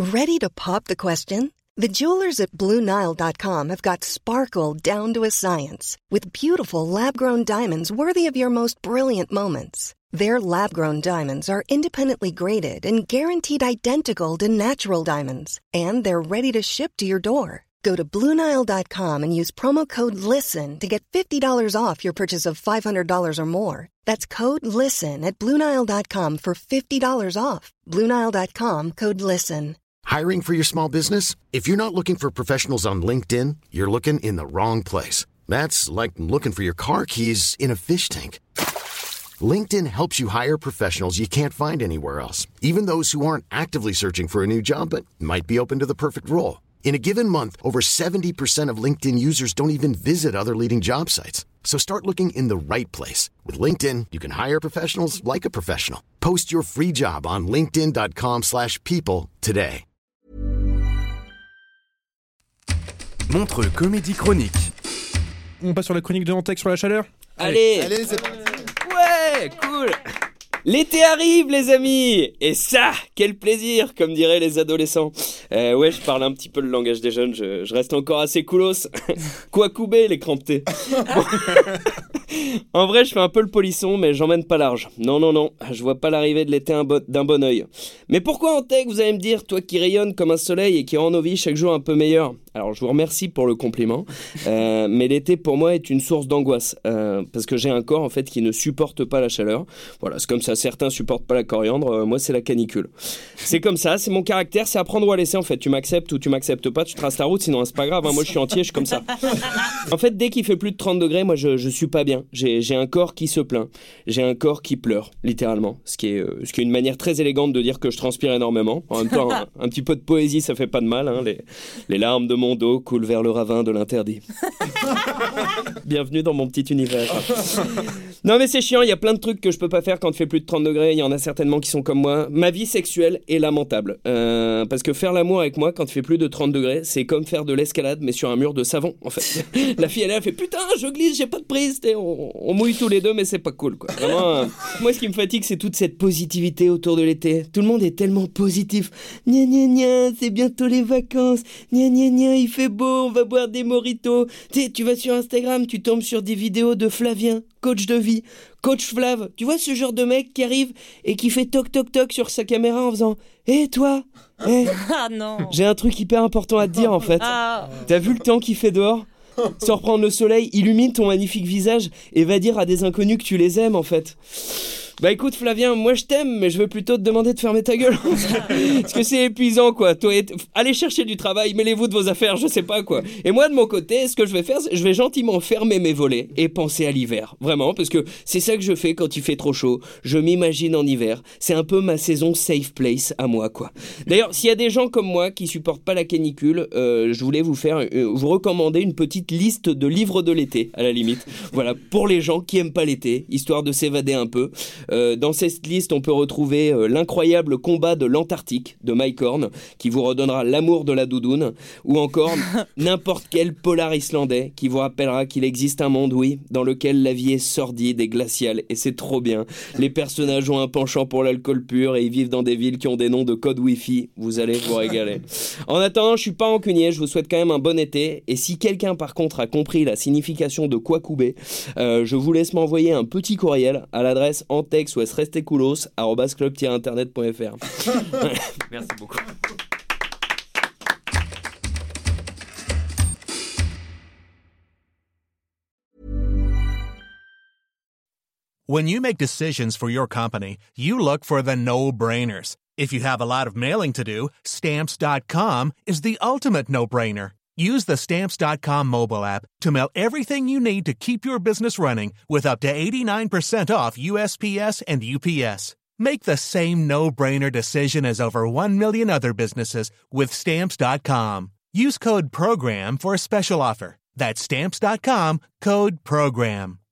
Ready to pop the question? The jewelers at BlueNile.com have got sparkle down to a science with beautiful lab-grown diamonds worthy of your most brilliant moments. Their lab-grown diamonds are independently graded and guaranteed identical to natural diamonds, and they're ready to ship to your door. Go to BlueNile.com and use promo code LISTEN to get $50 off your purchase of $500 or more. That's code LISTEN at BlueNile.com for $50 off. BlueNile.com, code LISTEN. Hiring for your small business? If you're not looking for professionals on LinkedIn, you're looking in the wrong place. That's like looking for your car keys in a fish tank. LinkedIn helps you hire professionals you can't find anywhere else, even those who aren't actively searching for a new job but might be open to the perfect role. In a given month, over 70% of LinkedIn users don't even visit other leading job sites. So start looking in the right place. With LinkedIn, you can hire professionals like a professional. Post your free job on linkedin.com/people today. Montreux Comédie Chronique. On passe sur la chronique de Antec sur la chaleur. Allez, c'est parti. Ouais, cool. L'été arrive, les amis. Et ça, quel plaisir, comme diraient les adolescents. Ouais, je parle un petit peu le langage des jeunes. Je reste encore assez coolos. Quoi couper, les crampetés. Bon. En vrai, je fais un peu le polisson, mais j'emmène pas large. Non, je vois pas l'arrivée de l'été d'un bon œil. Mais pourquoi Antec, vous allez me dire, toi qui rayonne comme un soleil et qui rend nos vies chaque jour un peu meilleures? Alors, je vous remercie pour le compliment, mais l'été pour moi est une source d'angoisse, parce que j'ai un corps en fait qui ne supporte pas la chaleur. Voilà, c'est comme ça, certains supportent pas la coriandre, moi c'est la canicule. C'est comme ça, c'est mon caractère, c'est à prendre ou à laisser en fait. Tu m'acceptes ou tu m'acceptes pas, tu traces la route, sinon c'est pas grave, hein, moi je suis entier, je suis comme ça. En fait, dès qu'il fait plus de 30 degrés, moi je suis pas bien. J'ai un corps qui se plaint, j'ai un corps qui pleure, littéralement, ce qui est une manière très élégante de dire que je transpire énormément. En même temps, un petit peu de poésie, ça fait pas de mal, hein, les larmes de mon dos coule vers le ravin de l'interdit. Bienvenue dans mon petit univers. Non mais c'est chiant, il y a plein de trucs que je peux pas faire quand il fait plus de 30 degrés, il y en a certainement qui sont comme moi. Ma vie sexuelle est lamentable, parce que faire l'amour avec moi quand il fait plus de 30 degrés, c'est comme faire de l'escalade mais sur un mur de savon en fait. La fille elle fait putain je glisse, j'ai pas de prise, on mouille tous les deux mais c'est pas cool quoi. Vraiment, moi ce qui me fatigue c'est toute cette positivité autour de l'été. Tout le monde est tellement positif. Gna gna gna, c'est bientôt les vacances. Gna gna gna, il fait beau, on va boire des mojitos. Tu vas sur Instagram, tu tombes sur des vidéos de Flavien, coach de vie, coach Flav. Tu vois ce genre de mec qui arrive et qui fait toc toc toc sur sa caméra en faisant « Hé toi Ah non. J'ai un truc hyper important à te dire en fait. T'as vu le temps qu'il fait dehors ? Sans reprendre le soleil, illumine ton magnifique visage et va dire à des inconnus que tu les aimes en fait. » Bah écoute Flavien, moi je t'aime, mais je veux plutôt te demander de fermer ta gueule. Parce que c'est épuisant quoi. Allez chercher du travail, mêlez-vous de vos affaires, je sais pas quoi. Et moi de mon côté, ce que je vais faire, je vais gentiment fermer mes volets et penser à l'hiver. Vraiment, parce que c'est ça que je fais quand il fait trop chaud. Je m'imagine en hiver. C'est un peu ma saison safe place à moi quoi. D'ailleurs, s'il y a des gens comme moi qui supportent pas la canicule, je voulais vous recommander une petite liste de livres de l'été, à la limite. Voilà, pour les gens qui aiment pas l'été, histoire de s'évader un peu. Dans cette liste, on peut retrouver L'incroyable combat de l'Antarctique de Mike Horn, qui vous redonnera l'amour de la doudoune, ou encore n'importe quel polar islandais qui vous rappellera qu'il existe un monde, oui, dans lequel la vie est sordide et glaciale, et c'est trop bien. Les personnages ont un penchant pour l'alcool pur et ils vivent dans des villes qui ont des noms de code Wi-Fi. Vous allez vous régaler. En attendant, je suis pas rancunier, je vous souhaite quand même un bon été, et si quelqu'un par contre a compris la signification de quoi couper, je vous laisse m'envoyer un petit courriel à l'adresse antexouesrestecoulos@club-internet.fr. Merci beaucoup. When you make decisions for your company, you look for the no-brainers. If you have a lot of mailing to do, Stamps.com is the ultimate no-brainer. Use the Stamps.com mobile app to mail everything you need to keep your business running with up to 89% off USPS and UPS. Make the same no-brainer decision as over 1 million other businesses with Stamps.com. Use code PROGRAM for a special offer. That's Stamps.com, code PROGRAM.